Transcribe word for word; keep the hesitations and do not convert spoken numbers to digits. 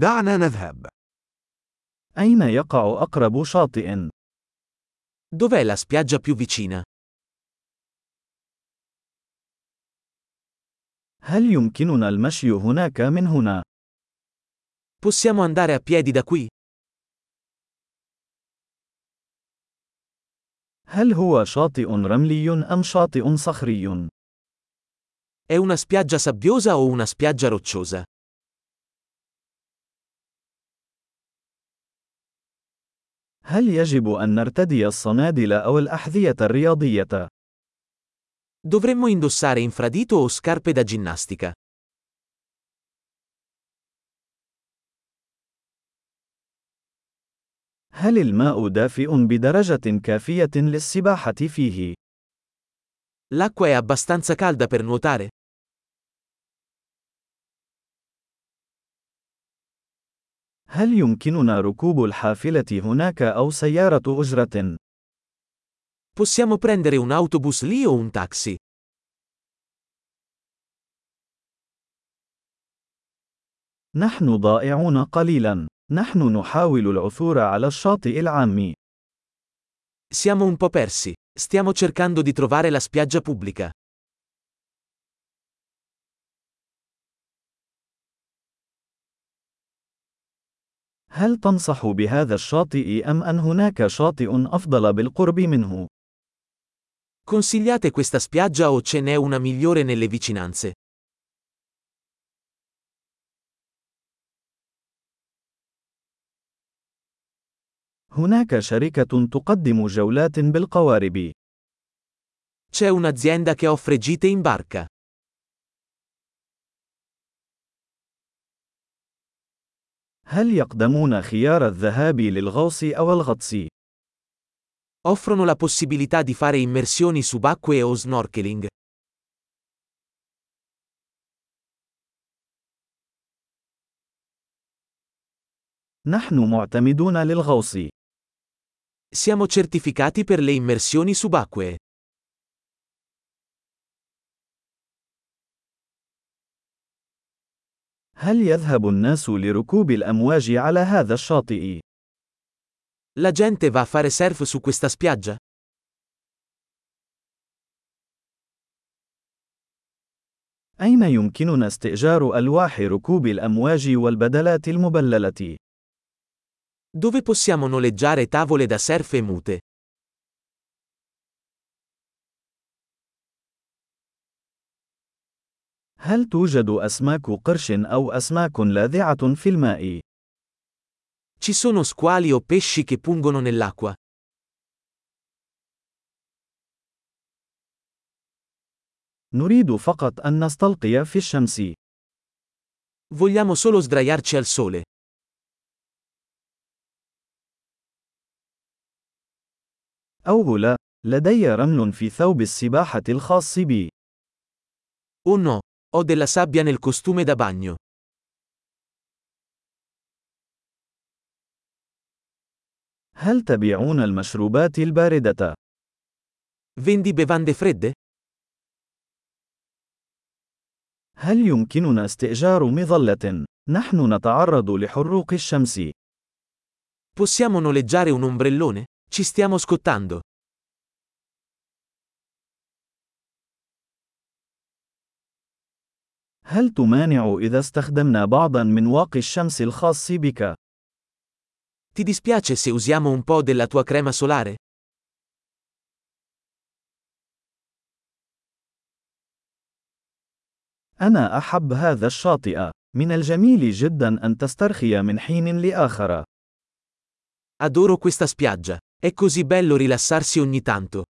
دعنا نذهب. أين يقع أقرب شاطئ؟ Dov'è la spiaggia più vicina? هل يمكننا المشي هناك من هنا؟ Possiamo andare a piedi da qui? هل هو شاطئ رملي أم شاطئ صخري؟ È una spiaggia sabbiosa o una spiaggia rocciosa? هل يجب أن نرتدي الصنادل أو الأحذية الرياضية؟ Dovremmo indossare infradito o scarpe da ginnastica? هل الماء دافئ بدرجة كافية للسباحة فيه؟ L'acqua è abbastanza calda per nuotare? هل يمكننا ركوب الحافلة هناك أو سيارة أجرة؟ Possiamo prendere un autobus lì o un taxi? نحن ضائعون قليلا. نحن نحاول العثور على الشاطئ العام. Siamo un po' persi. Stiamo cercando di trovare la spiaggia pubblica. هل تنصح بهذا الشاطئ أم أن هناك شاطئ أفضل بالقرب منه؟ Consigliate questa spiaggia o ce n'è una migliore nelle vicinanze? هناك شركة تقدم جولات بالقوارب. C'è un'azienda che offre gite in barca. هل يقدمون خيار الذهاب للغوص أو الغطس؟ Offrono la possibilità di fare immersioni subacquee o snorkeling. نحن معتمدون للغوص. Siamo certificati per le immersioni subacquee. هل يذهب الناس لركوب الأمواج على هذا الشاطئ؟ La gente va a fare surf su questa spiaggia? أين يمكننا استئجار ألواح ركوب الأمواج والبدلات المبللة؟ Dove possiamo noleggiare tavole da surf e mute? هل توجد أسماك قرش أو أسماك لاذعة في الماء؟ Ci sono squali o pesci che pungono nell'acqua? نريد فقط أن نستلقي في الشمس. Vogliamo solo sdraiarci al sole. أوه لا، لدي رمل في ثوب السباحة الخاص بي. Oh no, ho della sabbia nel costume da bagno. هل تبيعون المشروبات الباردة؟ Vendi bevande fredde? هل يمكننا استئجار مظلة؟ نحن نتعرض لحروق الشمس. Possiamo noleggiare un ombrellone? Ci stiamo scottando. هل تمانع إذا استخدمنا بعضا من واقي الشمس الخاص بك؟ Ti dispiace se usiamo un po' della tua crema solare? أنا أحب هذا الشاطئ. من الجميل جدا أن تسترخي من حين لآخر. Adoro questa spiaggia. È così bello rilassarsi ogni tanto.